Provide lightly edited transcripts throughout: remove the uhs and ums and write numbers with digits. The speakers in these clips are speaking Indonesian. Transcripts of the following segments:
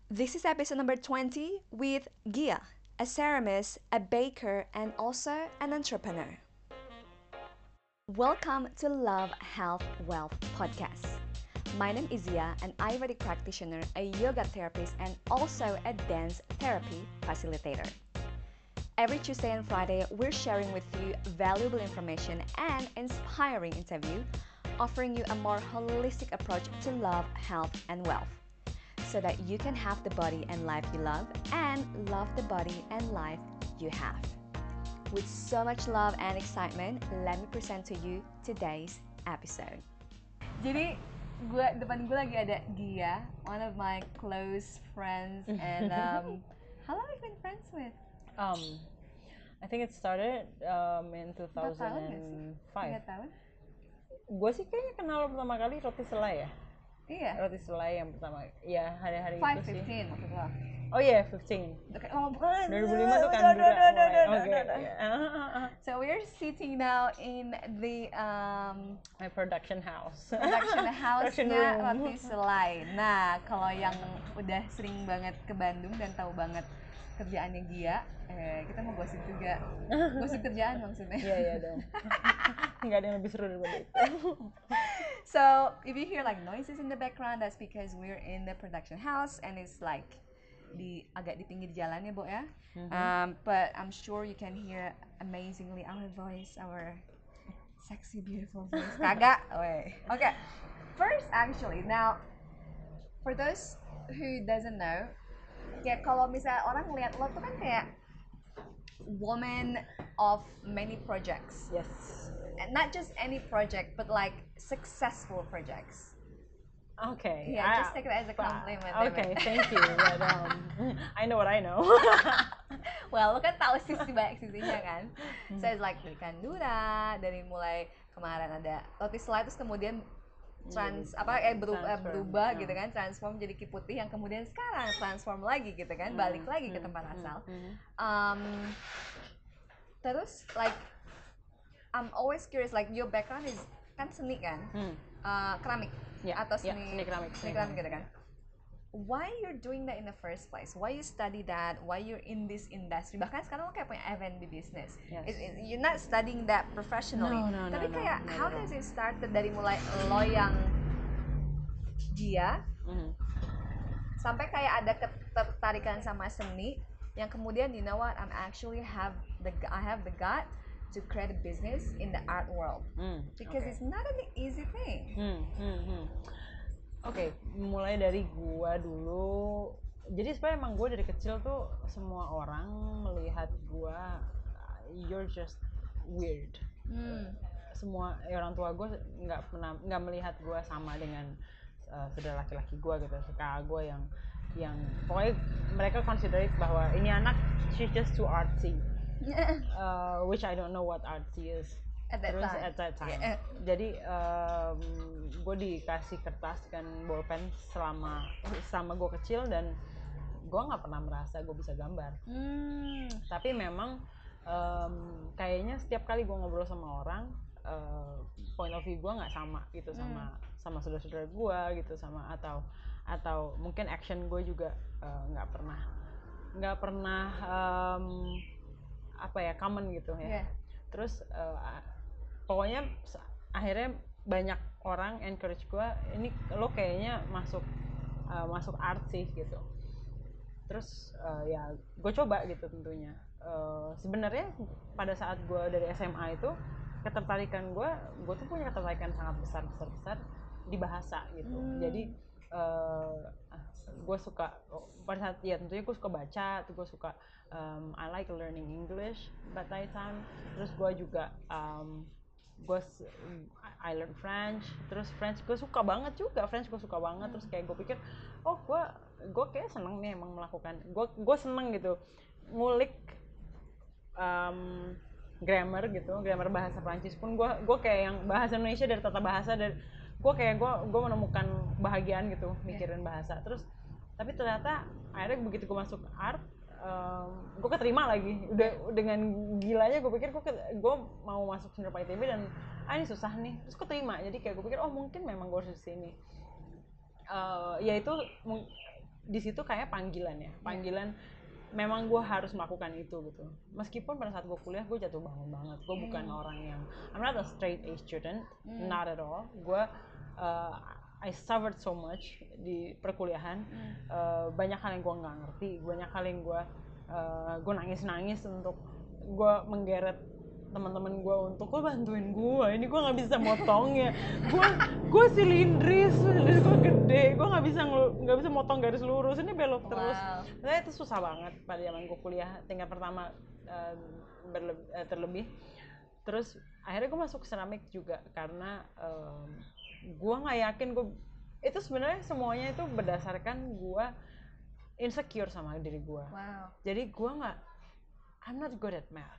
This is episode number 20 with Gia, a ceramist, a baker, and also an entrepreneur. Welcome to Love, Health, Wealth podcast. My name is Gia, an Ayurvedic practitioner, a yoga therapist, and also a dance therapy facilitator. Every Tuesday and Friday, we're sharing with you valuable information and inspiring interview, offering you a more holistic approach to love, health, and wealth, so that you can have the body and life you love and love the body and life you have. With so much love and excitement, let me present to you today's episode. Jadi depan gue lagi ada Gia, one of my close friends, and how long have you been friends with? I think it started in 4 tahun? 2005. Gue sih kayaknya kenal lo pertama kali roti selai ya. Iya. Roti selai yang pertama. Ya hari-hari itu sih. 5-15 maksud lo? Oh iya, 15. Okay, oh bukan. 2005 tuh kan No, juga no, no, mulai. no, Oke. no, no. So we're sitting now in the My production house. production Production house-nya room. Roti Selai. Nah, kalau yang udah sering banget ke Bandung dan tahu banget kerjaannya Gia, kita mau gosip juga. Gosip kerjaan maksudnya. Iya, iya dong. Nggak ada yang lebih seru daripada itu. So, if you hear like noises in the background, that's because we're in the production house and it's like agak di pinggir jalan ya, Bo ya. But I'm sure you can hear amazingly our voice, our sexy, beautiful voice. Kagak? Okay. First, actually, now, for those who doesn't know, kayak kalau misalnya orang ngeliat lo tuh kan kayak woman of many projects. Yes. And not just any project, but like successful projects. Okay. Yeah, just take it as a compliment. Okay, thank you. But, I know what I know. Well, lo kan tahu sisi banyak sisinya kan. So it's like dari Kandura, dari mulai kemarin ada Roti Selai, terus kemudian berubah gitu kan, transform jadi Kiputih yang kemudian sekarang transform lagi gitu kan, balik lagi ke tempat asal. Terus like I'm always curious, like your background is kan seni kan, keramik atau seni keramik gitu kan. Why you're doing that in the first place? Why you study that? Why you're in this industry? Bahkan sekarang lo kayak punya F&B business. Yes. You're not studying that professionally. No, Tapi kayak how no. does it start dari mulai lo yang Gia sampai kayak ada ketertarikan sama seni yang kemudian you know what, I have the gut to create a business in the art world because it's not an easy thing. Oke, mulai dari gua dulu. Jadi sebenarnya emang gua dari kecil tuh semua orang melihat gua you're just weird. Semua orang tua gua nggak melihat gua sama dengan saudara laki-laki gua gitu, kakak gua yang pokoknya mereka consider it bahwa ini anak she's just too artsy. Which I don't know what artsy is. At that time. Yeah. Jadi gue dikasih kertas dan bolpen selama gue kecil dan gue nggak pernah merasa gue bisa gambar. Tapi memang kayaknya setiap kali gue ngobrol sama orang, point of view gue nggak sama gitu sama saudara-saudara gue gitu, sama atau mungkin action gue juga nggak pernah common gitu ya. Terus pokoknya akhirnya banyak orang encourage gue, ini lo kayaknya masuk art sih gitu. Terus ya gue coba gitu tentunya. Sebenarnya pada saat gue dari SMA itu ketertarikan gue tuh punya ketertarikan sangat besar di bahasa gitu. Jadi gue suka pada saat ya tentunya gue suka baca, tuh gue suka I like learning English by that time. Terus gue juga I learn French. Terus French gue suka banget. Terus kayak gue pikir gue kayak seneng nih emang melakukan, gue seneng gitu ngulik grammar gitu, grammar bahasa Prancis pun gue kayak yang bahasa Indonesia dari tata bahasa, dan gue menemukan bahagiaan gitu mikirin bahasa. Terus tapi ternyata akhirnya begitu gue masuk art, gue keterima lagi. Udah dengan gilanya gue pikir gue mau masuk senior ITB dan ini susah nih, terus keterima. Jadi kayak gue pikir mungkin memang gue harus di sini. Ya itu di situ kayak panggilan ya, panggilan memang gue harus melakukan itu gitu. Meskipun pada saat gue kuliah gue jatuh bangun banget, gue bukan orang yang, I'm not a straight A student, not at all. Gue I suffered so much di perkuliahan, banyak hal yang gue nggak ngerti, banyak hal yang gue nangis untuk gue menggeret teman-teman gue untuk lo bantuin gue, ini gue nggak bisa motongnya, gue silindris gue gede, gue nggak bisa motong garis lurus, ini belok terus. Nah, itu susah banget pada zaman gue kuliah tingkat pertama, terlebih. Terus akhirnya gue masuk keramik juga karena gue nggak yakin itu sebenarnya semuanya itu berdasarkan gue insecure sama diri gue. Jadi gue I'm not good at math.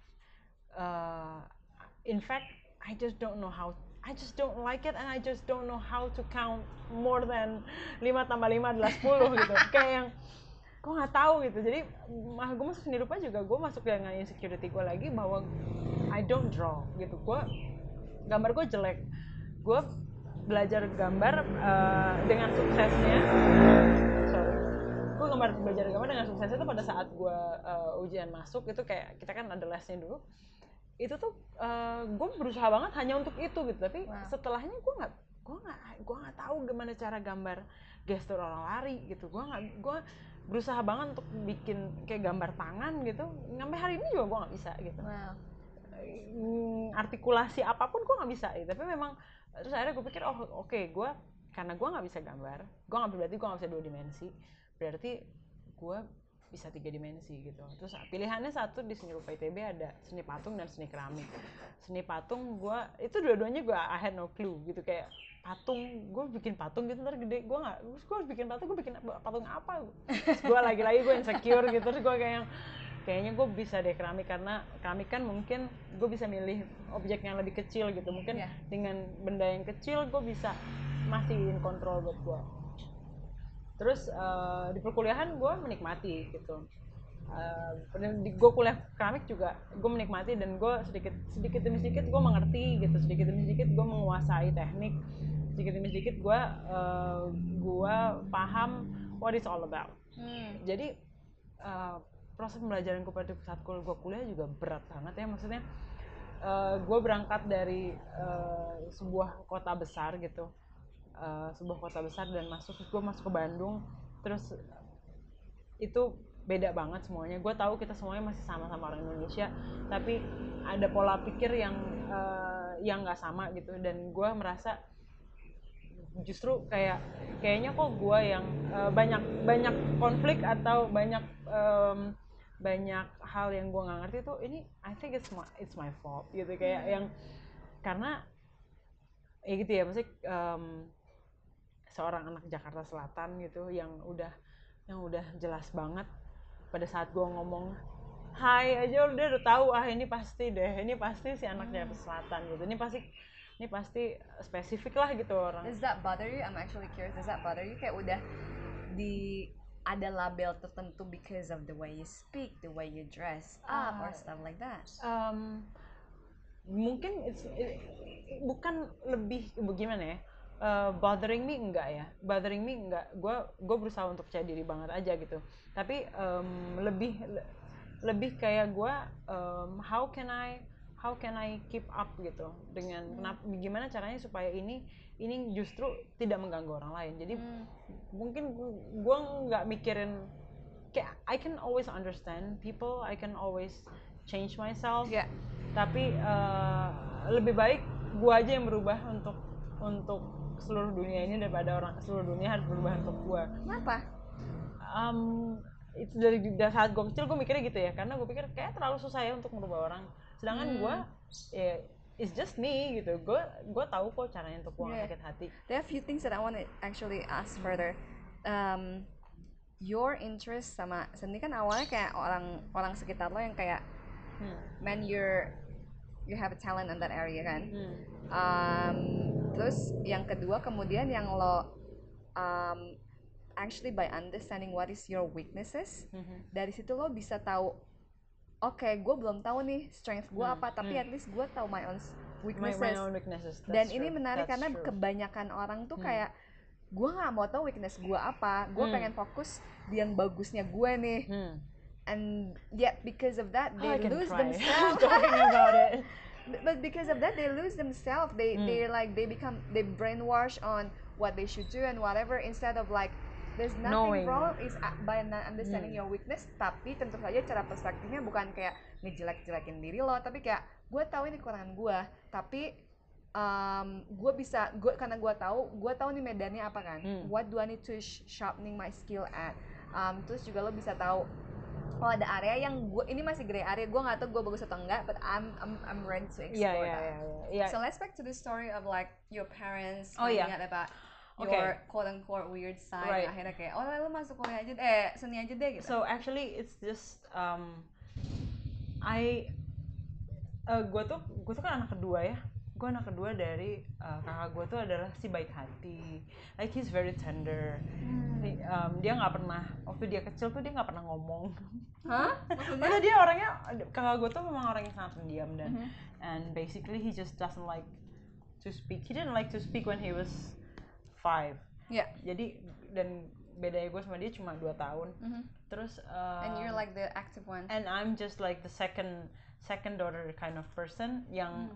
In fact, I just don't like it, and I just don't know how to count more than 5 tambah 5 adalah 10 gitu. Kayak yang gue nggak tahu gitu. Jadi gue masuk seni rupa juga, gue masuk dengan insecurity gue lagi bahwa I don't draw gitu. Gambar gue jelek. Gue belajar gambar dengan suksesnya. Gue belajar gambar dengan suksesnya itu pada saat gue ujian masuk itu, kayak kita kan ada lesnya dulu. Itu tuh gue berusaha banget hanya untuk itu gitu, tapi setelahnya gue nggak tahu gimana cara gambar gestur orang lari gitu. Gue berusaha banget untuk bikin kayak gambar tangan gitu, sampai hari ini juga gue nggak bisa gitu. Artikulasi apapun gue nggak bisa gitu. Tapi memang terus akhirnya gue pikir gue karena gue nggak bisa gambar, berarti gue nggak bisa 2 dimensi, berarti gue bisa 3 dimensi gitu. Terus pilihannya satu di seni rupa ITB ada seni patung dan seni keramik. Seni patung gue itu dua-duanya I had no clue gitu, kayak patung gue bikin patung gitu ntar gede, gue harus bikin patung apa? Terus gue lagi-lagi gue insecure gitu, terus gue kayaknya gue bisa deh keramik, karena keramik kan mungkin gue bisa milih objek yang lebih kecil gitu, mungkin dengan benda yang kecil gue bisa masih in control buat gue. Terus di perkuliahan gue menikmati gitu, gue kuliah keramik juga gue menikmati, dan gue sedikit demi sedikit gue mengerti gitu, sedikit demi sedikit gue menguasai teknik, sedikit demi sedikit gue paham what it's all about. Jadi proses pembelajaran gue pada saat gue kuliah juga berat banget ya, maksudnya gue berangkat dari sebuah kota besar gitu, dan gue masuk ke Bandung, terus itu beda banget semuanya. Gue tahu kita semuanya masih sama-sama orang Indonesia, tapi ada pola pikir yang nggak sama gitu, dan gue merasa justru kayaknya kok gue yang banyak konflik atau banyak hal yang gue nggak ngerti tuh, ini I think it's my fault gitu, kayak yang karena ya gitu ya, maksudnya seorang anak Jakarta Selatan gitu yang udah jelas banget pada saat gue ngomong hai aja udah tahu ini pasti si anak Jakarta Selatan gitu, ini pasti spesifik lah gitu orang. Does that bother you? I'm actually curious. Does that bother you? Kayak udah ada label tertentu because of the way you speak, the way you dress up or stuff like that? Mungkin bukan lebih bagaimana ya, bothering me enggak, gue berusaha untuk percaya diri banget aja gitu, tapi lebih kayak gue how can I keep up gitu dengan gimana caranya supaya ini justru tidak mengganggu orang lain. Jadi mungkin gue nggak mikirin kayak I can always understand people, I can always change myself, tapi lebih baik gue aja yang berubah untuk seluruh dunia ini daripada seluruh dunia harus berubah untuk gue. Kenapa? Itu dari saat gue kecil gue mikirnya gitu ya, karena gue pikir kayak terlalu susah ya untuk merubah orang, sedangkan gue it's just me gitu, gue tahu kok caranya untuk gue sakit hati. There are a few things that I want to actually ask further. Your interest sama seni kan awalnya kayak orang sekitar lo yang kayak man you have a talent in that area kan. Terus yang kedua kemudian yang lo actually by understanding what is your weaknesses, dari situ lo bisa tahu gue belum tahu nih strength gue apa, tapi at least gue tahu my own weaknesses. My own weaknesses. Dan ini menarik karena kebanyakan orang tuh kayak gue nggak mau tahu weakness gue apa, gue pengen fokus di yang bagusnya gue nih. And yet because of that they lose themselves. Talking about it. But because of that they lose themselves. They're like they brainwash on what they should do and whatever, instead of like there's nothing wrong is by not understanding your weakness. Tapi tentu saja cara perspektifnya bukan kayak ngejelek-jelekin diri lo, tapi kayak gue tahu ini kekurangan gue, tapi karena gue tahu nih medannya apa kan. What do I need to sharpening my skill at. Terus juga lo bisa tahu ada area yang ini masih gray area, gue nggak tahu gue bagus atau enggak, but I'm ready to explore that. So let's back to the story of like your parents finding out about your quote unquote weird side. Akhirnya kayak lo masuk kuliah aja seni aja deh gitu. So actually it's just gue tuh kan anak kedua ya. Gue anak kedua dari kakak gue tuh adalah si baik hati, like he's very tender. Dia nggak pernah, waktu dia kecil tuh dia nggak pernah ngomong. Maksudnya dia orangnya, kakak gue tuh memang orang yang sangat pendiam dan and basically he just doesn't like to speak. He didn't like to speak when he was 5. Jadi dan bedanya gue sama dia cuma 2 tahun. Terus and you're like the active one. And I'm just like the second daughter kind of person yang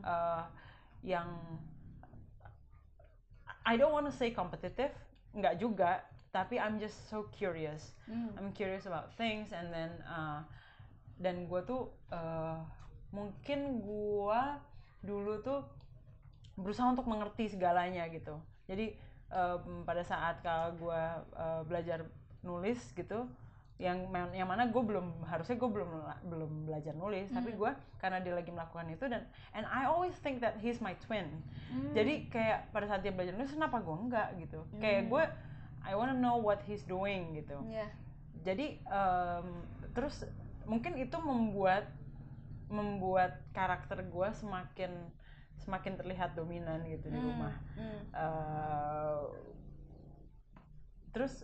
I don't want to say competitive, nggak juga, tapi I'm just so curious. I'm curious about things, and then dan gue tuh mungkin gue dulu tuh berusaha untuk mengerti segalanya gitu. Jadi pada saat kalau gue belajar nulis gitu, yang mana gue harusnya gue belum belajar nulis, tapi gue karena dia lagi melakukan itu dan and I always think that he's my twin. Jadi kayak pada saat dia belajar nulis, kenapa gue enggak gitu? Kayak gue I wanna know what he's doing gitu. Jadi terus mungkin itu membuat karakter gue semakin terlihat dominan gitu di rumah. Terus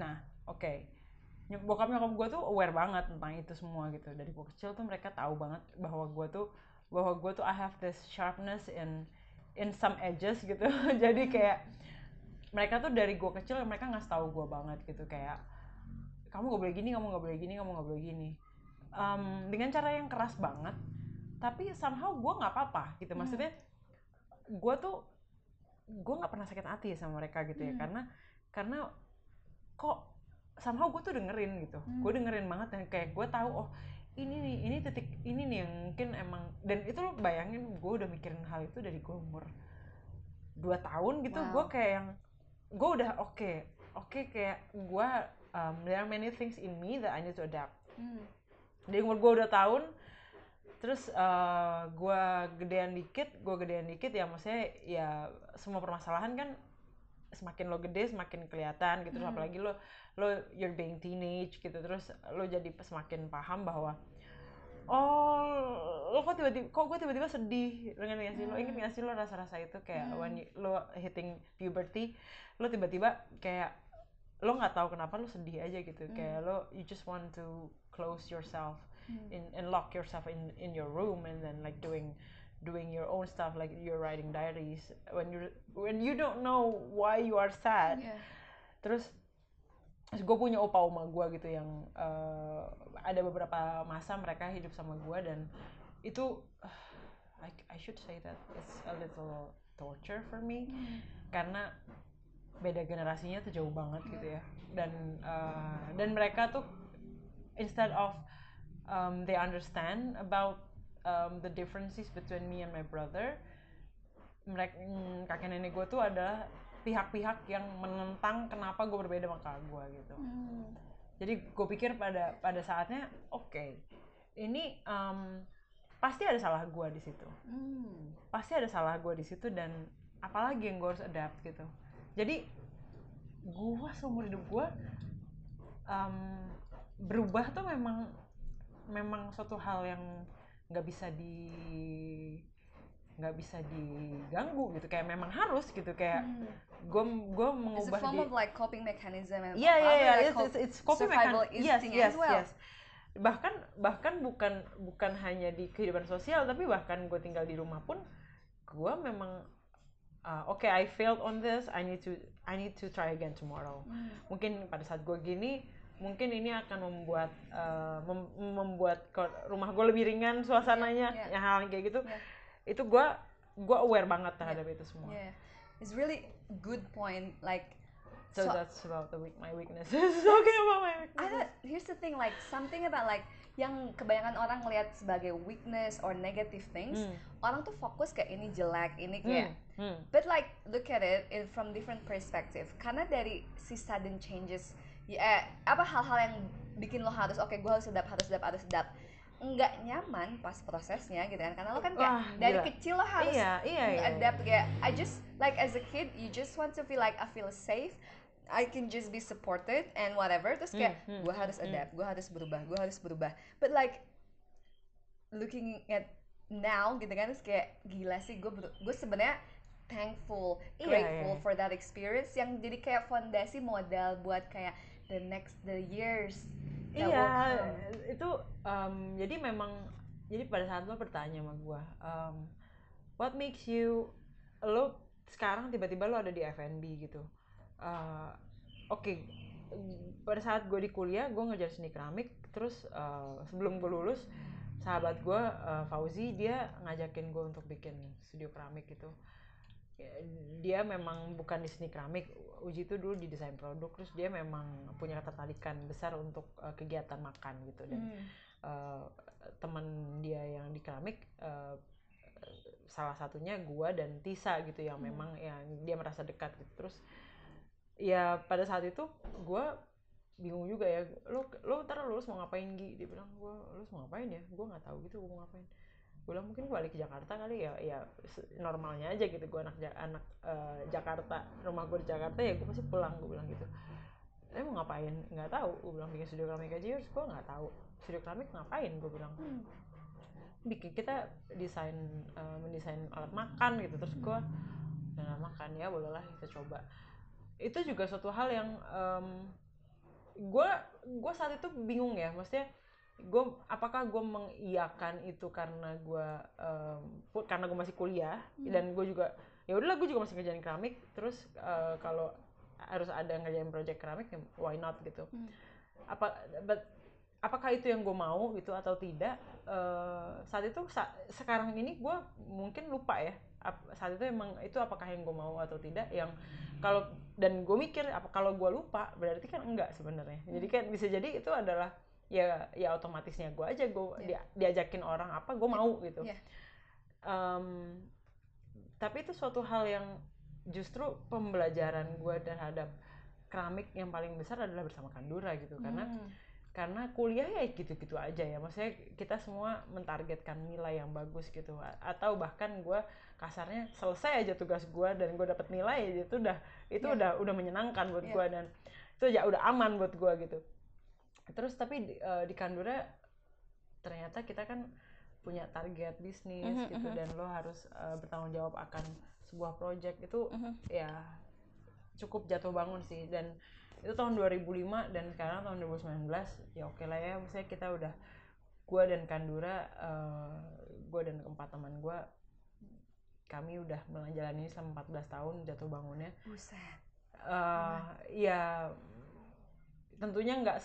bokap nyokap gue tuh aware banget tentang itu semua gitu. Dari gue kecil tuh mereka tahu banget bahwa gue tuh I have this sharpness in some edges gitu. Jadi kayak mereka tuh dari gue kecil mereka ngasih tahu gue banget gitu, kayak kamu gak boleh gini, kamu gak boleh gini, kamu gak boleh gini, dengan cara yang keras banget, tapi somehow gue nggak apa-apa gitu. Maksudnya gue nggak pernah sakit hati sama mereka gitu ya, karena kok somehow gue tuh dengerin gitu. Gue dengerin banget dan kayak gue tahu ini titik ini nih yang mungkin emang, dan itu lo bayangin gue udah mikirin hal itu dari gue umur 2 tahun gitu. Gue kayak yang gue udah oke, kayak gue there are many things in me that I need to adapt. Dari umur gue 2 tahun, terus gue gedean dikit ya, maksudnya ya semua permasalahan kan semakin lo gede semakin kelihatan gitu. Apalagi lo you're being teenage gitu, terus lo jadi semakin paham bahwa kok gue tiba-tiba sedih. Lo inget gak sih lo rasa-rasa itu kayak when lo hitting puberty, lo tiba-tiba kayak lo nggak tahu kenapa lo sedih aja gitu. Kayak you just want to close yourself and lock yourself in your room and then like doing your own stuff, like you're writing diaries when you don't know why you are sad. Terus gue punya opa oma gue gitu yang ada beberapa masa mereka hidup sama gue, dan itu I should say that it's a little torture for me karena beda generasinya tuh jauh banget gitu ya, dan mereka tuh instead of they understand about the differences between me and my brother, kakek nenek gue tuh adalah pihak-pihak yang menentang kenapa gue berbeda sama kakak gue gitu. Jadi gue pikir pada saatnya ini pasti ada salah gue di situ. Pasti ada salah gue di situ, dan apalagi yang gue harus adapt gitu. Jadi gue seumur hidup gue berubah tuh memang suatu hal yang nggak bisa diganggu gitu, kayak memang harus gitu, kayak gue mengubah. It's a form of like coping mechanism and it's coping mechanism. Yes. Bahkan bukan hanya di kehidupan sosial, tapi bahkan gue tinggal di rumah pun gue memang okay, I failed on this, I need to try again tomorrow. Mungkin pada saat gue gini, mungkin ini akan membuat rumah gue lebih ringan suasananya, ya hal kayak gitu. Itu gue aware banget terhadap itu semua. It's really good point, like. So that's about my weaknesses. Talking about my weaknesses. Here's the thing, like something about like yang kebanyakan orang ngelihat sebagai weakness or negative things, orang tuh fokus kayak ini jelek, ini kayak. But like look at it from different perspective. Karena dari si sudden changes, hal-hal yang bikin lo harus gue harus sedap. Nggak nyaman pas prosesnya gitu kan, karena lo kan kayak dari kecil lo harus adapt kayak I just like as a kid you just want to feel like I feel safe, I can just be supported and whatever, terus kayak gue harus adapt, gue harus berubah, but like looking at now gitu kan, terus kayak gila sih gue sebenarnya thankful, grateful for that experience yang jadi kayak fondasi modal buat kayak the years. Itu jadi memang pada saat lo bertanya sama gue, what makes you, lo sekarang tiba-tiba lo ada di F&B gitu. Oke, pada saat gue di kuliah gue ngejar seni keramik, terus sebelum gue lulus sahabat gue Fauzi, dia ngajakin gue untuk bikin studio keramik gitu. Dia memang bukan di seni keramik, Uji itu dulu di desain produk, terus dia memang punya ketertarikan besar untuk kegiatan makan gitu, dan teman dia yang di keramik salah satunya gue dan Tisa gitu yang memang yang dia merasa dekat gitu. Terus ya pada saat itu gue bingung juga ya, lo ntar lulus mau ngapain Gi? Dia bilang, gue lulus mau ngapain ya, gue nggak tahu gitu gue mau ngapain. Gue bilang mungkin balik ke Jakarta kali ya normalnya aja gitu, gue anak Jakarta, rumah gue di Jakarta, ya gue pasti pulang, gue bilang gitu. Mau ngapain nggak tahu, gue bilang bikin studio keramik aja. Terus gue nggak tahu studio keramik ngapain, gue bilang bikin kita mendesain alat makan gitu. Terus gue alat makan, ya bolehlah kita coba. Itu juga suatu hal yang gue saat itu bingung ya, maksudnya apakah gue mengiyakan itu karena gue masih kuliah dan gue juga ya udahlah, gue juga masih ngerjain keramik, terus kalau harus ada ngerjain project keramik ya why not gitu. Apakah itu yang gue mau gitu atau tidak, saat itu sekarang ini gue mungkin lupa ya saat itu emang itu apakah yang gue mau atau tidak, yang kalau dan gue mikir kalau gue lupa berarti kan enggak sebenarnya. Jadi kan bisa jadi itu adalah ya otomatisnya gue aja, diajakin orang apa gue mau gitu. Tapi itu suatu hal yang justru pembelajaran gue terhadap keramik yang paling besar adalah bersama Kandura gitu. Karena kuliah ya gitu-gitu aja ya, maksudnya kita semua mentargetkan nilai yang bagus gitu, atau bahkan gue kasarnya selesai aja tugas gue dan gue dapet nilai, itu udah menyenangkan buat gue, dan itu ya udah aman buat gue gitu. Terus tapi di Kandura ternyata kita kan punya target bisnis gitu, dan lo harus bertanggung jawab akan sebuah project itu. Ya cukup jatuh bangun sih, dan itu tahun 2005 dan sekarang tahun 2019 ya oke lah ya, misalnya kita udah, gue dan Kandura, gue dan keempat teman gue, kami udah menjalani selama 14 tahun jatuh bangunnya. Buset. Ya tentunya nggak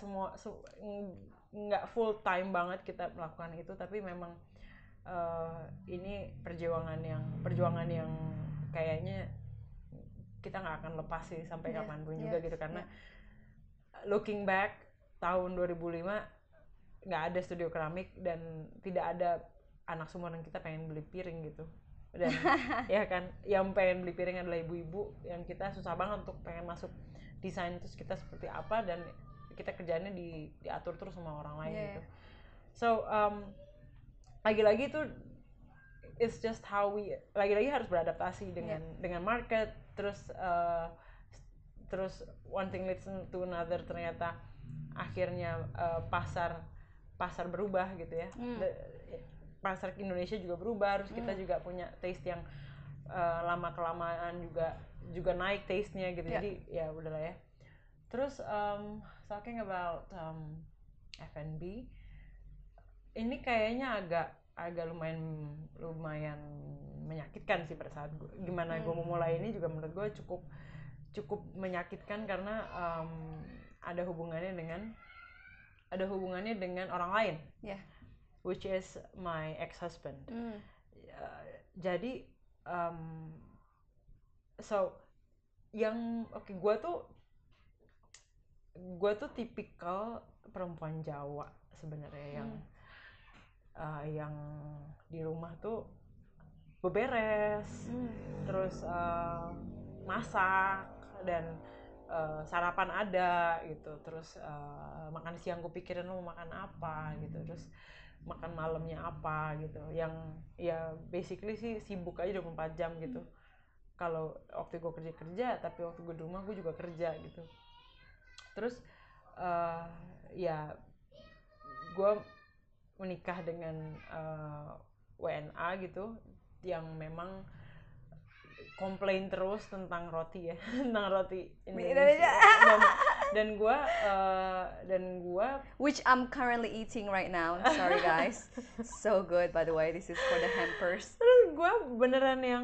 full time banget kita melakukan itu, tapi memang ini perjuangan yang kayaknya kita nggak akan lepas sih sampai kapanpun juga gitu, karena looking back tahun 2005 nggak ada studio keramik dan tidak ada anak sumuran kita pengen beli piring gitu, dan ya kan yang pengen beli piring adalah ibu-ibu yang kita susah banget untuk pengen masuk desain terus kita seperti apa, dan kita kerjaannya diatur terus sama orang lain gitu. So lagi-lagi itu it's just how we lagi-lagi harus beradaptasi dengan market, terus one thing leads to another, ternyata akhirnya pasar berubah gitu ya. Pasar Indonesia juga berubah, terus kita juga punya taste yang lama kelamaan juga naik taste-nya gitu. Jadi ya udahlah ya. Terus talking about F&B, ini kayaknya agak agak lumayan menyakitkan sih pada saat gimana gue memulai ini juga menurut gue cukup menyakitkan karena ada hubungannya dengan orang lain, which is my ex-husband. Jadi gue tuh tipikal perempuan Jawa sebenarnya yang di rumah tuh beberes, terus masak dan sarapan ada gitu, terus makan siang gue pikirin lo mau makan apa gitu, terus makan malamnya apa gitu, yang ya basically sih sibuk aja 24 jam gitu. Kalau waktu gue kerja, tapi waktu gue di rumah gue juga kerja gitu. Terus ya gue menikah dengan WNA gitu, yang memang komplain terus tentang roti ya, tentang roti Indonesia. dan gue which I'm currently eating right now. Sorry guys, so good by the way. This is for the hampers. Terus gue beneran yang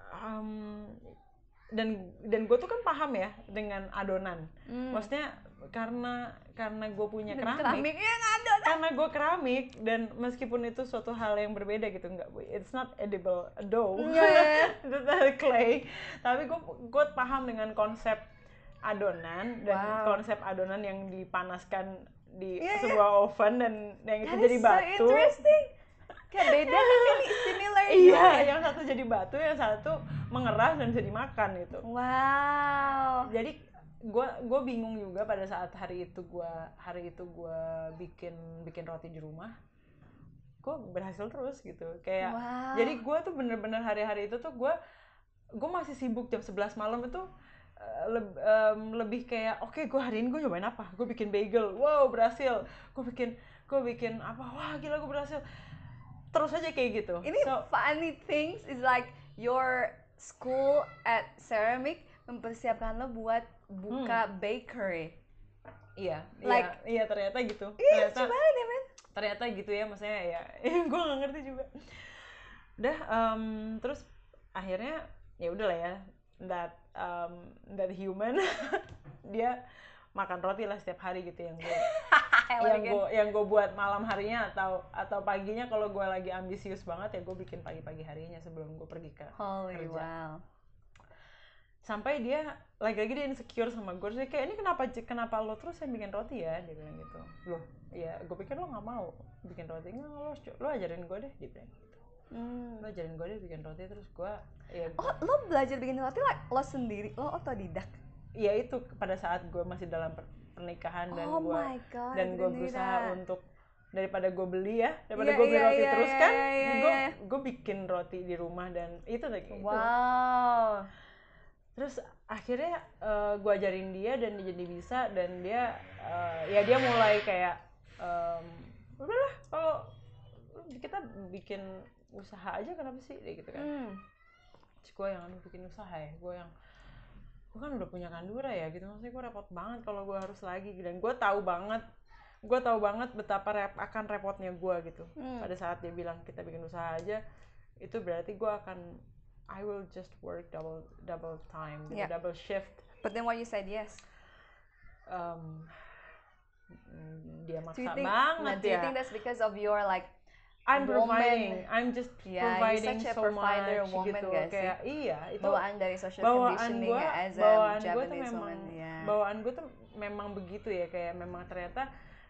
dan gue tuh kan paham ya dengan adonan. Maksudnya karena gue punya keramik ya, adonan. Karena gue keramik, dan meskipun itu suatu hal yang berbeda gitu, it's not edible dough, itu clay, tapi gue paham dengan konsep adonan dan konsep adonan yang dipanaskan di sebuah oven dan yang itu jadi batu. So interesting. Kayak beda tapi similar. Iya, yang satu jadi batu, yang satu mengeras dan bisa dimakan gitu. Wow. Jadi gue bingung juga pada saat hari itu gue bikin roti di rumah, gue berhasil terus gitu kayak. Jadi gue tuh bener-bener hari-hari itu tuh gue masih sibuk jam 11 malam itu lebih kayak oke, gue hari ini gue nyobain apa, gue bikin bagel, wow berhasil, gue bikin apa, wah gila gue berhasil, terus aja kayak gitu. Ini funny things is like your school at ceramic mempersiapkan lo buat buka bakery. Iya, like, iya ternyata gitu. Ternyata gitu ya, maksudnya ya gue nggak ngerti juga. Udah, terus akhirnya ya udahlah ya, that human dia makan roti lah setiap hari gitu, yang gue buat malam harinya atau paginya kalau gue lagi ambisius banget ya gue bikin pagi harinya sebelum gue pergi ke kerja. Wow. Sampai dia lagi-lagi dia insecure sama gue, terus dia kayak, ini kenapa lo terus yang bikin roti ya, dia bilang gitu. Loh ya gue pikir lo nggak mau bikin roti, nggak, lo ajarin gue deh, dia bilang gitu. Lo ajarin gue deh bikin roti. Terus gue lo belajar bikin roti like lo sendiri, lo otodidak? Ya itu pada saat gue masih dalam pernikahan dan gue berusaha untuk daripada gue beli beli roti terus kan, gue bikin roti di rumah dan itu lagi. Wow. Terus akhirnya gue ajarin dia dan dia jadi bisa, dan dia dia mulai kayak udahlah kalau kita bikin usaha aja kenapa sih gitu kan. Terus gue yang bikin usaha ya, gue kan udah punya Kandura ya gitu, maksudnya gue repot banget kalau gue harus lagi, dan gue tahu banget betapa akan repotnya gue gitu. Pada saat dia bilang kita bikin usaha aja, itu berarti I will just work double time, double shift. But then why you said yes? Dia maksa banget ya. Do you think that's because of your like I'm just providing such a so provider much woman, gitu. Kayak itu bawaan dari social conditioning as a Japanese woman. Bawaan gue tuh memang begitu ya, kayak memang ternyata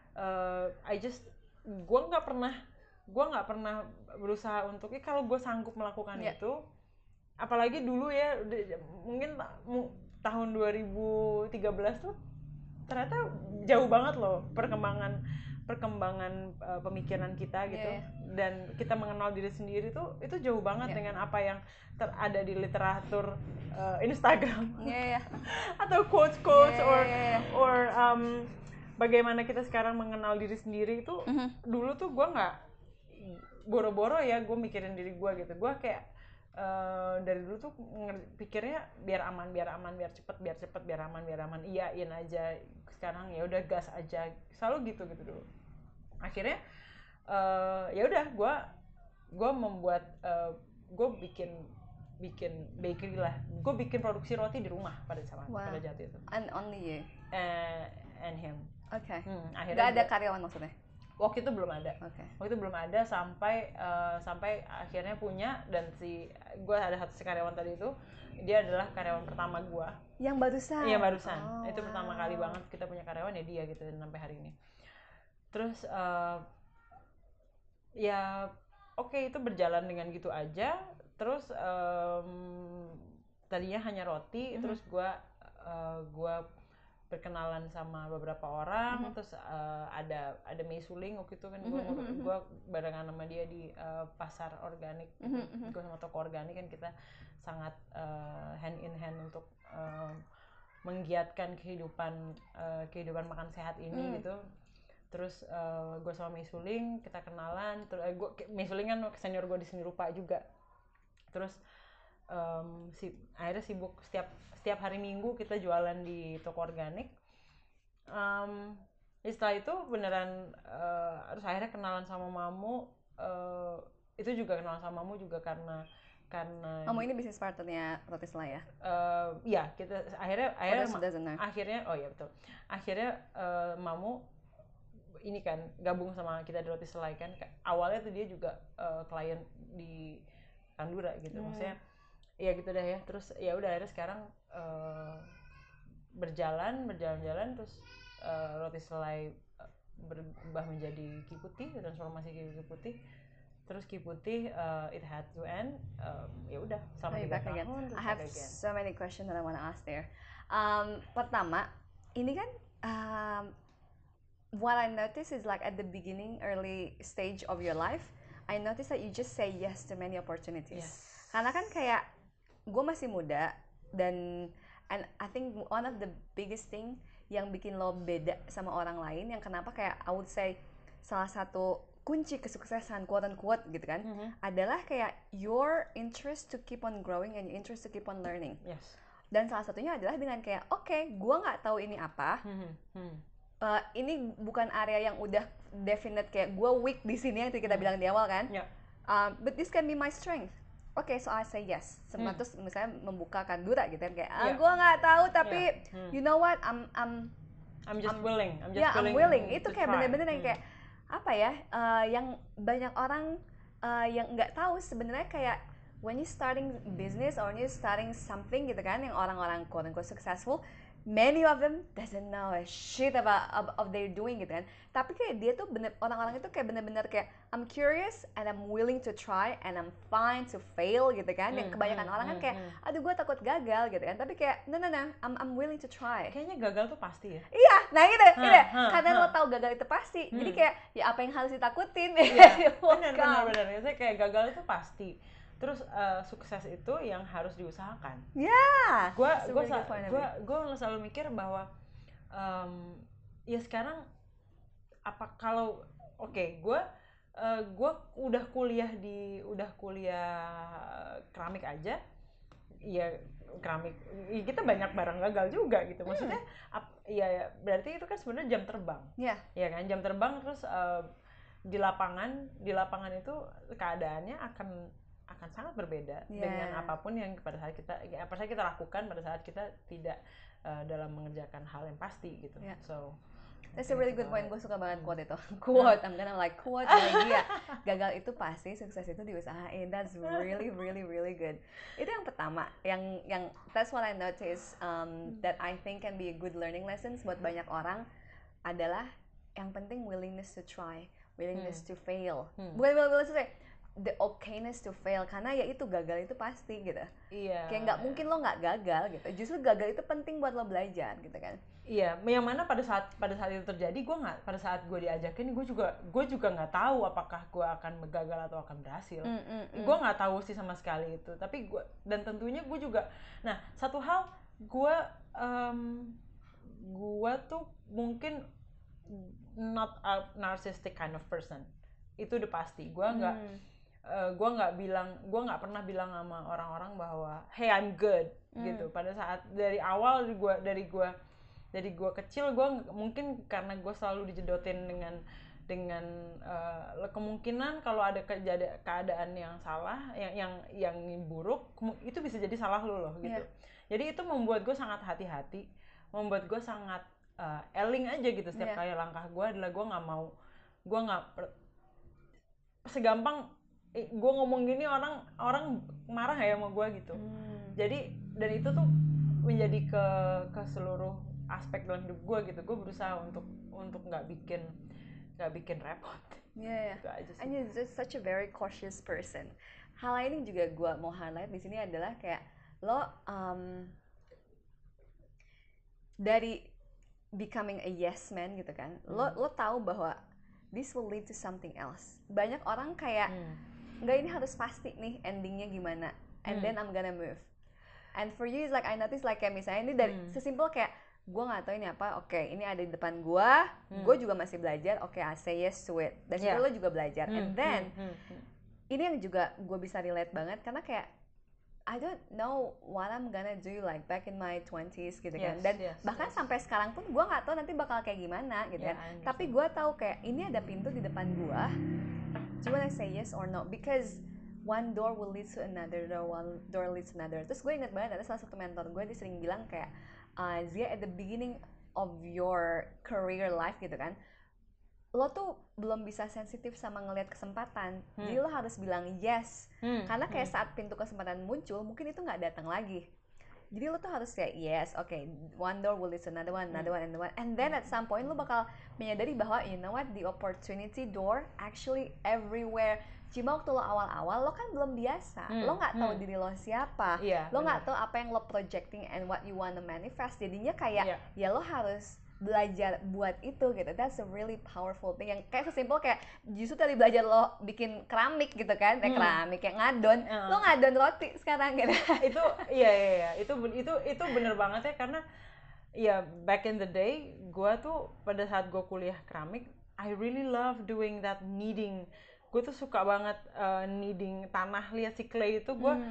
gue nggak pernah berusaha untuk kalau gue sanggup melakukan itu. Apalagi dulu ya, mungkin tahun 2013 tuh ternyata jauh banget loh perkembangan pemikiran kita gitu. Dan kita mengenal diri sendiri tuh itu jauh banget dengan apa yang ada di literatur Instagram atau quotes or bagaimana kita sekarang mengenal diri sendiri itu. Dulu tuh gue nggak boro-boro ya gue mikirin diri gue gitu. Gue kayak dari dulu tuh pikirnya biar aman, biar cepet, biar aman, iyain aja. Sekarang ya udah gas aja, selalu gitu dulu. Akhirnya ya udah gue gue membuat gue bikin bakery lah, gue bikin produksi roti di rumah pada saat itu. And only you? And him. Oke. Akhirnya nggak ada karyawan maksudnya? Waktu itu belum ada. Okay. Waktu itu belum ada sampai akhirnya punya, dan gue ada satu karyawan tadi itu, dia adalah karyawan pertama gue. Yang barusan? Iya barusan. Itu pertama kali banget kita punya karyawan ya dia gitu, dan sampai hari ini. Terus ya oke, itu berjalan dengan gitu aja. Terus tadinya hanya roti, terus gue berkenalan sama beberapa orang, terus ada Mei Suling waktu itu kan, gue barengan sama dia di pasar organik, gue sama toko organik kan, kita sangat hand in hand untuk menggiatkan kehidupan makan sehat ini gitu. Terus gue sama Mei Suling kita kenalan, terus Mei Suling kan senior gue di seni rupa juga. Terus akhirnya sibuk setiap hari Minggu kita jualan di toko organik. Setelah itu beneran terus akhirnya kenalan sama Mamu. Itu juga kenalan sama Mamu juga karena Mamu ini bisnis partnernya Roti Selai ya? Iya, kita akhirnya oh iya betul. Akhirnya Mamu ini kan gabung sama kita di Roti Selai kan. Awalnya tuh dia juga klien di Tandura gitu. Maksudnya ya gitu dah ya. Terus ya udah akhirnya sekarang berjalan terus Roti Selai berubah menjadi Ki Putih, transformasi Ki Putih. Terus Ki Putih it had to end. Ya udah sama 3 tahun. I have so many questions that I want to ask there. Pertama, ini kan what I notice is like at the beginning, early stage of your life, I notice that you just say yes to many opportunities. Yes. Karena kan kayak gue masih muda, and I think one of the biggest thing yang bikin lo beda sama orang lain, yang kenapa kayak I would say salah satu kunci kesuksesan quote unquote gitu kan, adalah kayak your interest to keep on growing and your interest to keep on learning. Yes. Dan salah satunya adalah dengan kayak gue nggak tahu ini apa. Ini bukan area yang udah definite, kayak gue weak di sini yang kita bilang di awal kan. Yeah. But this can be my strength. Okay, so I say yes. Terus misalnya membuka Kandura gitu kan, kayak gue nggak tahu tapi you know what, I'm just willing. I'm willing. Itu kayak bener-bener yang kayak apa ya? Yang banyak orang yang nggak tahu sebenarnya, kayak when you starting business or when you starting something gitu kan, yang orang-orang quote unquote successful, many of them doesn't know a shit about of they're doing gitu kan. Tapi kayak dia tuh orang-orang itu kayak bener-bener kayak I'm curious and I'm willing to try and I'm fine to fail gitu kan. Yang kebanyakan orang kan kayak aduh gue takut gagal gitu kan. Tapi kayak no I'm willing to try. Kayaknya gagal tuh pasti ya. Iya, nah gitu. Karena lo tahu gagal itu pasti. Jadi kayak ya apa yang harus ditakutin? Iya, benar. Saya kayak gagal itu pasti. Terus sukses itu yang harus diusahakan. Ya. Gue selalu mikir bahwa ya sekarang apa kalau gue udah kuliah keramik aja, ya keramik kita banyak barang gagal juga gitu. Maksudnya ya berarti itu kan sebenarnya jam terbang. Iya. Ya kan, jam terbang. Terus di lapangan itu keadaannya akan sangat berbeda dengan apapun yang pada saat kita lakukan pada saat kita tidak dalam mengerjakan hal yang pasti gitu. So that's a really good point. Gue suka banget quote itu. I'm gonna like quote dia. Gagal itu pasti, sukses itu diusahain. That's really good. Itu yang pertama. Yang that's what I notice that I think can be a good learning lessons buat banyak orang, adalah yang penting willingness to try, willingness to fail. Bukan willingness to say the okayness to fail, karena ya itu gagal itu pasti gitu. Iya. Kayak nggak mungkin lo nggak gagal gitu. Justru gagal itu penting buat lo belajar gitu kan. Iya, yang mana pada saat itu terjadi, pada saat gue diajakin, gue juga nggak tahu apakah gue akan gagal atau akan berhasil. Gue nggak tahu sih sama sekali itu. Tapi dan tentunya gue juga. Nah, satu hal gue tuh mungkin not a narcissistic kind of person. Itu udah pasti. Gue nggak pernah bilang sama orang-orang bahwa hey I'm good gitu. Pada saat dari awal dari gue kecil, gue mungkin karena gue selalu dijedotin kemungkinan kalau ada keadaan yang salah, yang buruk, itu bisa jadi salah lo gitu. Jadi itu membuat gue sangat hati-hati, membuat gue sangat eling aja gitu setiap kali langkah gue adalah gue nggak segampang gue ngomong gini orang marah ya sama gue gitu. Jadi dan itu tuh menjadi ke seluruh aspek dalam hidup gue gitu. Gue berusaha untuk nggak bikin repot. Gitu aja sih. And you're just such a very cautious person. Hal lain yang juga gue mau highlight di sini adalah kayak lo dari becoming a yes man gitu kan, lo tahu bahwa this will lead to something else. Banyak orang kayak nggak, ini harus pasti nih endingnya gimana, and then I'm gonna move. And for you it's like I notice like kayak misalnya ini dari sesimpel kayak gue nggak tahu ini apa, oke, ini ada di depan gue juga masih belajar, oke, I say yes to it. Dan situ lo juga belajar, and then ini yang juga gue bisa relate banget karena kayak I don't know what I'm gonna do like back in my 20s gitu kan. Dan bahkan sampai sekarang pun gue nggak tahu nanti bakal kayak gimana gitu kan. Tapi gue tahu kayak ini ada pintu di depan gue. Do you wanna say yes or no? Because one door will lead to another, one door leads to another. Terus gue inget banget ada salah satu mentor gue, dia sering bilang kayak Zia, at the beginning of your career life gitu kan, lo tuh belum bisa sensitif sama ngelihat kesempatan, jadi lo harus bilang yes, karena kayak saat pintu kesempatan muncul mungkin itu nggak datang lagi, jadi lo tuh harus kayak yes, okay, one door will lead to another one, and then at some point lo bakal menyadari bahwa you know what, the opportunity door actually everywhere. Cuma waktu lo awal-awal lo kan belum biasa, lo nggak tahu diri lo siapa, lo nggak tahu apa yang lo projecting and what you wanna manifest, jadinya kayak ya lo harus belajar buat itu gitu. That's a really powerful thing. Yang kayak sesimpel kayak justru tadi belajar lo bikin keramik gitu kan, keramik kayak ngadon, lo ngadon roti sekarang gitu. Itu iya itu bener banget ya, karena ya back in the day gue tuh pada saat gue kuliah keramik, I really love doing that kneading. Gue tuh suka banget kneading tanah, lihat si clay itu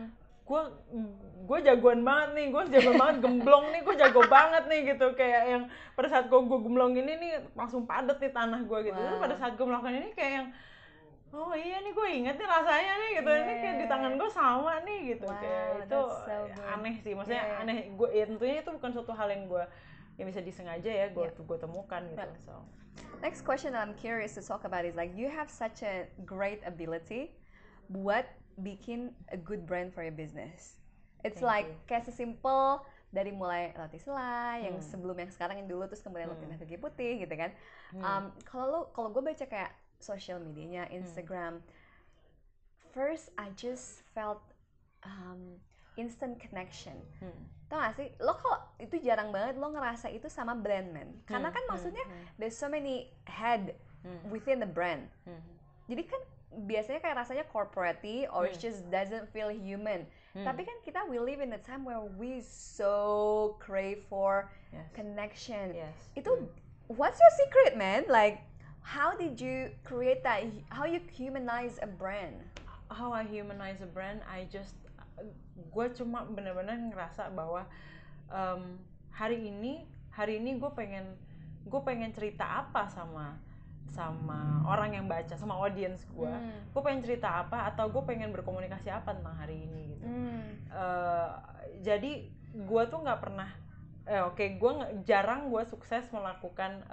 gue jagoan banget nih, gue jago banget gemblong nih, gue jago banget nih gitu. Kayak yang pada saat gue gemblong ini nih langsung padat nih tanah gue gitu. Terus pada saat gue melakukan ini kayak yang oh iya nih, gue inget nih rasanya nih gitu. Ini kayak di tangan gue sama nih gitu. Kayak itu so aneh sih, maksudnya aneh. Gue ya tentunya itu bukan suatu hal yang bisa disengaja ya gue temukan gitu. So next question that I'm curious to talk about is like you have such a great ability buat bikin a good brand for your business. It's like kayak sesimpel dari mulai roti selai yang sebelum yang sekarang yang dulu, terus kemudian lo pindah ke G Putih gitu kan. Kalau gue baca kayak social medianya, Instagram, first I just felt instant connection. Tau gak sih, lo kalau itu jarang banget lo ngerasa itu sama brand man, karena kan maksudnya there's so many head within the brand. Jadi kan biasanya kayak rasanya corporate or it just doesn't feel human. Tapi kan kita we live in a time where we so crave for connection. Itu what's your secret, man? Like how did you create that? How you humanize a brand? How I humanize a brand, gue cuma benar-benar ngerasa bahwa hari ini gue pengen cerita apa sama orang yang baca, sama audience gue pengen cerita apa, atau gue pengen berkomunikasi apa tentang hari ini gitu. Jadi gue tuh nggak pernah jarang gue sukses melakukan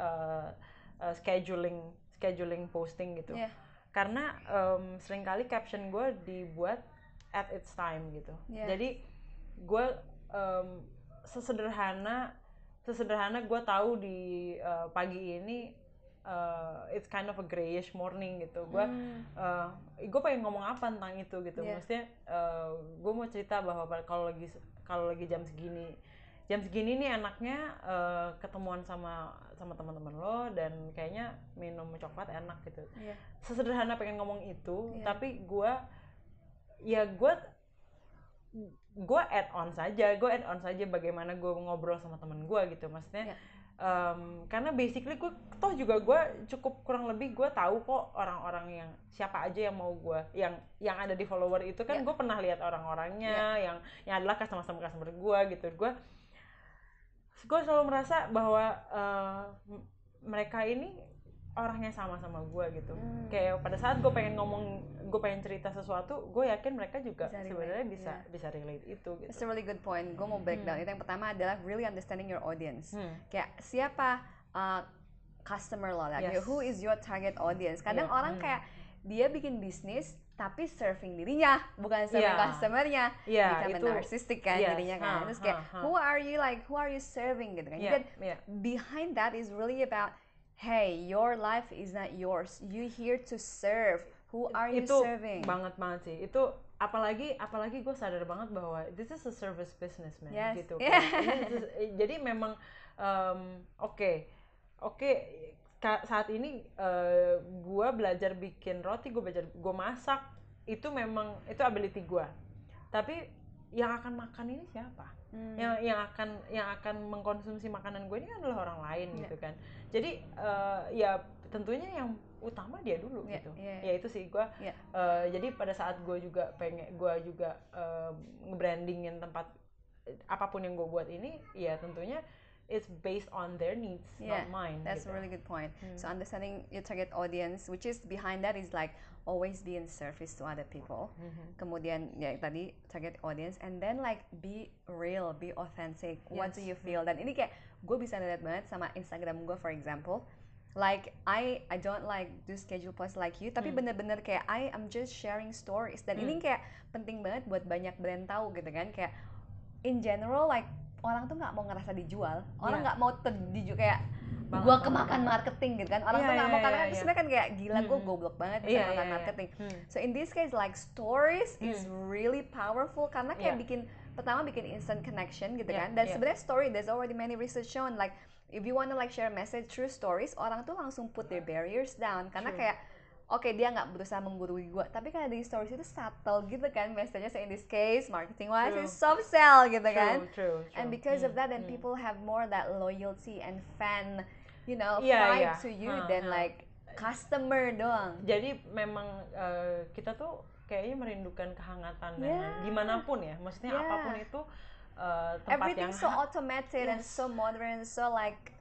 scheduling posting gitu. Karena seringkali caption gue dibuat at its time gitu. Jadi gue sesederhana gue tahu di pagi ini it's kind of a grayish morning gitu. Gue pengen ngomong apa tentang itu gitu. Maksudnya gue mau cerita bahwa kalau lagi jam segini nih enaknya ketemuan sama teman-teman lo, dan kayaknya minum coklat enak gitu. Sesederhana pengen ngomong itu, tapi gue add on saja bagaimana gue ngobrol sama temen gue gitu. Maksudnya karena basically gue cukup kurang lebih gue tahu kok orang-orang yang siapa aja yang mau gue yang ada di follower itu kan. Gue pernah lihat orang-orangnya yang adalah customer gue gitu. Gue selalu merasa bahwa mereka ini orangnya sama gue gitu. Kayak pada saat gue pengen cerita sesuatu, gue yakin mereka juga sebenarnya bisa relate itu gitu. It's a really good point. Gue mau breakdown. Itu yang pertama adalah really understanding your audience. Kayak siapa customer lo, like who is your target audience. Kadang orang kayak dia bikin bisnis tapi serving dirinya, bukan serving customernya. Become narcissistic kan jadinya kan. Terus kayak who are you serving gitu kan. Jadi behind that is really about, hey, your life is not yours. You here to serve. Who are you serving? Itu banget sih. Itu apalagi gue sadar banget bahwa this is a service business, man. Gitu. Jadi memang oke. Saat ini gue belajar bikin roti, gue masak, itu memang itu ability gue. Tapi yang akan makan ini siapa? Yang akan mengkonsumsi makanan gue ini kan adalah orang lain gitu kan. Jadi ya tentunya yang utama dia dulu gitu. Ya itu sih gue. Jadi pada saat gue juga nge-brandingin tempat apapun yang gue buat ini, ya tentunya it's based on their needs, not mine. That's a really good point. So understanding your target audience, which is behind that is like always be in service to other people. Kemudian ya tadi target audience, and then like be real, be authentic. What do you feel? Dan ini kayak gue bisa lihat banget sama Instagram gue, for example. Like I don't like do schedule post like you, tapi bener-bener kayak I am just sharing stories. Dan ini kayak penting banget buat banyak brand tahu gitu kan. Kayak in general like orang tuh nggak mau ngerasa dijual, orang nggak mau terdijuk kayak gue kemakan marketing gitu kan. Orang tuh nggak mau, karena kan sebenarnya kan kayak gila gue goblok banget bisa makan marketing. So in this case like stories is really powerful karena kayak bikin instant connection gitu kan. Dan sebenarnya story, there's already many research shown like if you wanna like share a message through stories, orang tuh langsung put their barriers down karena kayak oke, dia nggak berusaha menggurui gue, tapi kan di stories itu subtle gitu kan message-nya. So in this case, marketing wise is soft sell gitu kan. True. And because of that, then people have more that loyalty and fan, vibe to you than like customer doang. Jadi memang kita tuh kayaknya merindukan kehangatan gimana pun ya, maksudnya apapun itu tempat everything so automated and so modern, so like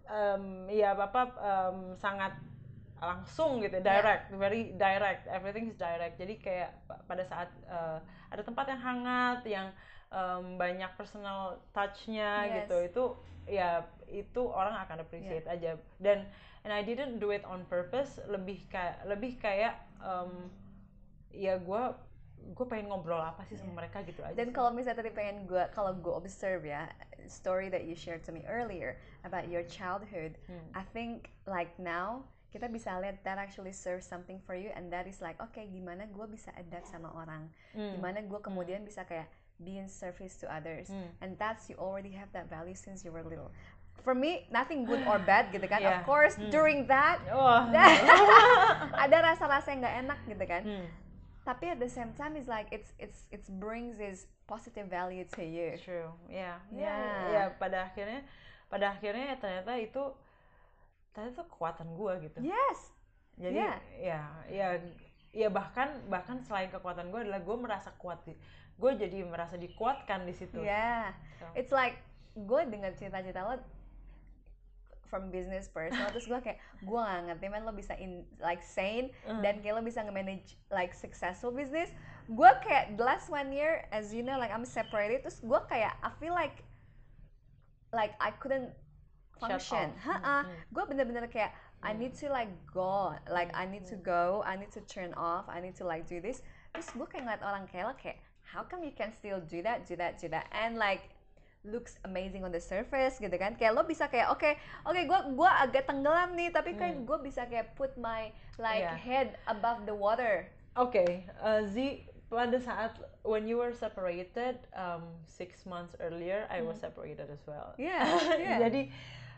sangat langsung gitu, direct, very direct, everything is direct. Jadi kayak pada saat ada tempat yang hangat, yang banyak personal touch-nya gitu, itu orang akan appreciate aja. And I didn't do it on purpose, lebih kayak ya gue pengen ngobrol apa sih sama mereka gitu aja. Dan kalau misalnya tadi kalau gue observe ya, story that you shared to me earlier about your childhood, I think like now kita bisa lihat that actually serves something for you, and that is like okay, gimana gue bisa adapt sama orang, gimana gue kemudian bisa kayak be in service to others, and that's you already have that value since you were little. For me, nothing good or bad gitu kan. Of course, during that ada rasa-rasa yang nggak enak gitu kan. Tapi at the same time, it's like it brings this positive value to you. True, yeah. Pada akhirnya ternyata itu kekuatan gue gitu. Yes. Jadi ya bahkan selain kekuatan gue adalah gue merasa kuat, gue jadi merasa dikuatkan di situ. So. It's like gue dengar cerita-cerita lo from business personal, terus gue kayak gue gak ngerti man lo bisa sane dan kayak lo bisa nge-manage like successful business. Gue kayak the last 1 year, as you know, like I'm separated, terus gue kayak I feel like I couldn't function. Gue bener-bener kayak I need to like go, like I need to go, I need to turn off, I need to like do this. Terus gue kayak ngeliat orang kayak lo kayak how come you can still do that and like looks amazing on the surface gitu kan. Kayak lo bisa kayak oke, gue agak tenggelam nih, tapi kayak gue bisa kayak put my like head above the water. Z, pada saat when you were separated 6 months earlier, I was separated as well. Jadi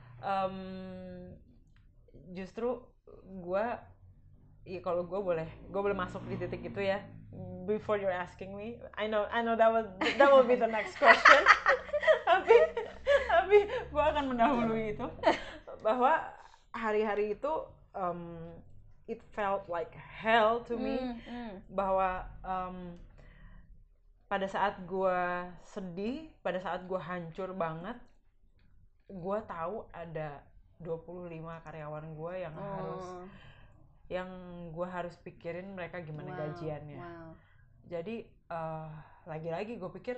justru gue kalau gue boleh masuk di titik itu ya. Before you're asking me, I know that will be the next question. tapi gue akan mendahului itu, bahwa hari-hari itu it felt like hell to me. Bahwa pada saat gue sedih, pada saat gue hancur banget, gue tahu ada 25 karyawan gue yang gue harus pikirin mereka gimana gajiannya. Jadi lagi-lagi gue pikir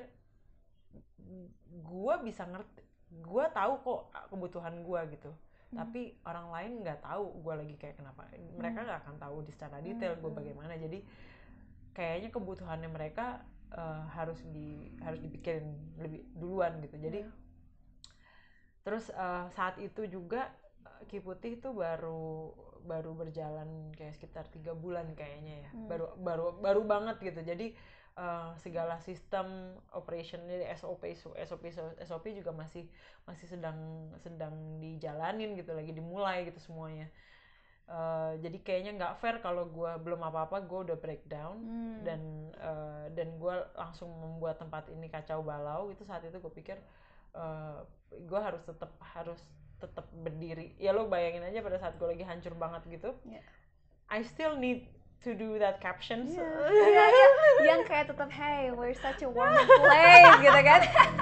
gue bisa ngerti, gue tahu kok kebutuhan gue gitu. Tapi orang lain nggak tahu gue lagi kayak kenapa. Mereka nggak akan tahu secara detail gue bagaimana. Jadi kayaknya kebutuhannya mereka harus dipikirin lebih duluan gitu. Jadi terus saat itu juga Ki Putih itu baru berjalan kayak sekitar 3 bulan kayaknya ya. Baru banget gitu. Jadi segala sistem operation dari SOP juga masih sedang dijalanin gitu, lagi dimulai gitu semuanya. Jadi kayaknya nggak fair kalau gue belum apa-apa gue udah breakdown dan gue langsung membuat tempat ini kacau balau. Itu saat itu gue pikir gue harus tetap berdiri. Ya lo bayangin aja pada saat gue lagi hancur banget gitu, I still need to do that captions. Yang kayak tetap hey we're such a warm place gitu kan.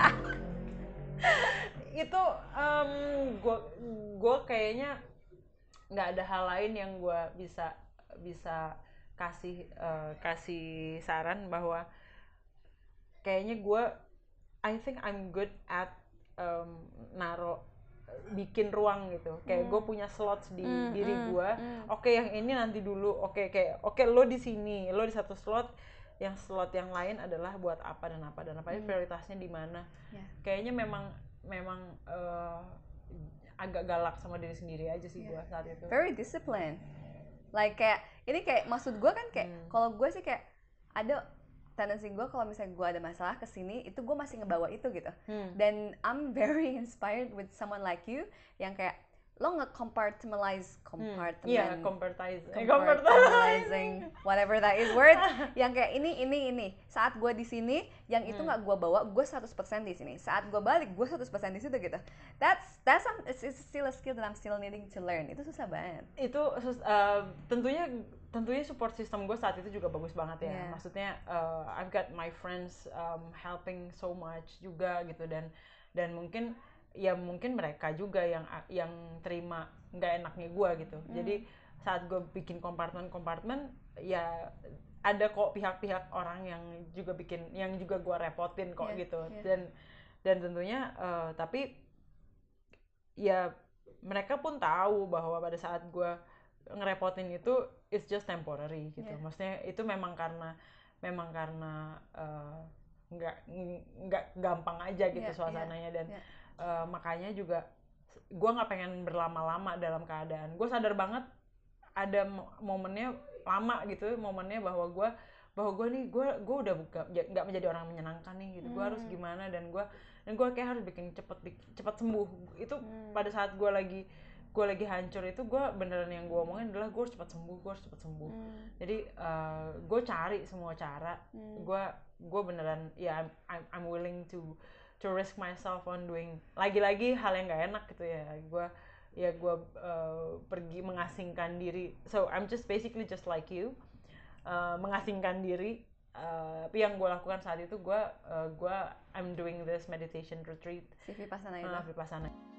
Itu gue kayaknya nggak ada hal lain yang gue bisa kasih saran bahwa kayaknya I think I'm good at bikin ruang gitu. Kayak gue punya slots di diri gue. Oke, yang ini nanti dulu. Oke, lo di sini, lo di satu slot. Yang slot yang lain adalah buat apa dan apa prioritasnya di mana. Kayaknya memang agak galak sama diri sendiri aja sih gue saat itu. Very disciplined. Like kayak ini kayak maksud gue kan kayak kalau gue sih kayak ada tendensi gue kalau misalnya gue ada masalah kesini itu gue masih ngebawa itu gitu. Dan I'm very inspired with someone like you yang kayak lo compartmentalizing whatever that is word yang kayak ini saat gue di sini yang itu nggak gue bawa, gue 100% di sini, saat gue balik gue 100% di situ gitu. That's it's still a skill that I'm still needing to learn. Itu susah banget. Itu tentunya support system gue saat itu juga bagus banget ya. Maksudnya I've got my friends helping so much juga gitu, dan mungkin mereka juga yang terima nggak enaknya gue gitu. Jadi saat gue bikin kompartemen ya ada kok pihak-pihak orang yang juga gue repotin kok gitu. Dan tentunya tapi ya mereka pun tahu bahwa pada saat gue ngerepotin itu it's just temporary gitu. Maksudnya itu memang karena nggak gampang aja gitu suasananya. Dan makanya juga gue nggak pengen berlama-lama dalam keadaan. Gue sadar banget ada momennya lama gitu, momennya bahwa gue udah nggak menjadi orang menyenangkan nih gitu. Gue harus gimana, dan gue kayak harus bikin cepat sembuh. Itu pada saat gue lagi hancur itu, gue beneran yang gue omongin adalah gue harus cepat sembuh. Jadi gue cari semua cara. Gue beneran ya I'm willing to risk myself on doing lagi-lagi hal yang gak enak gitu ya. Gue pergi mengasingkan diri. So I'm just basically just like you, mengasingkan diri. Tapi yang gue lakukan saat itu I'm doing this meditation retreat. Si Vipassana itu. Vipassana.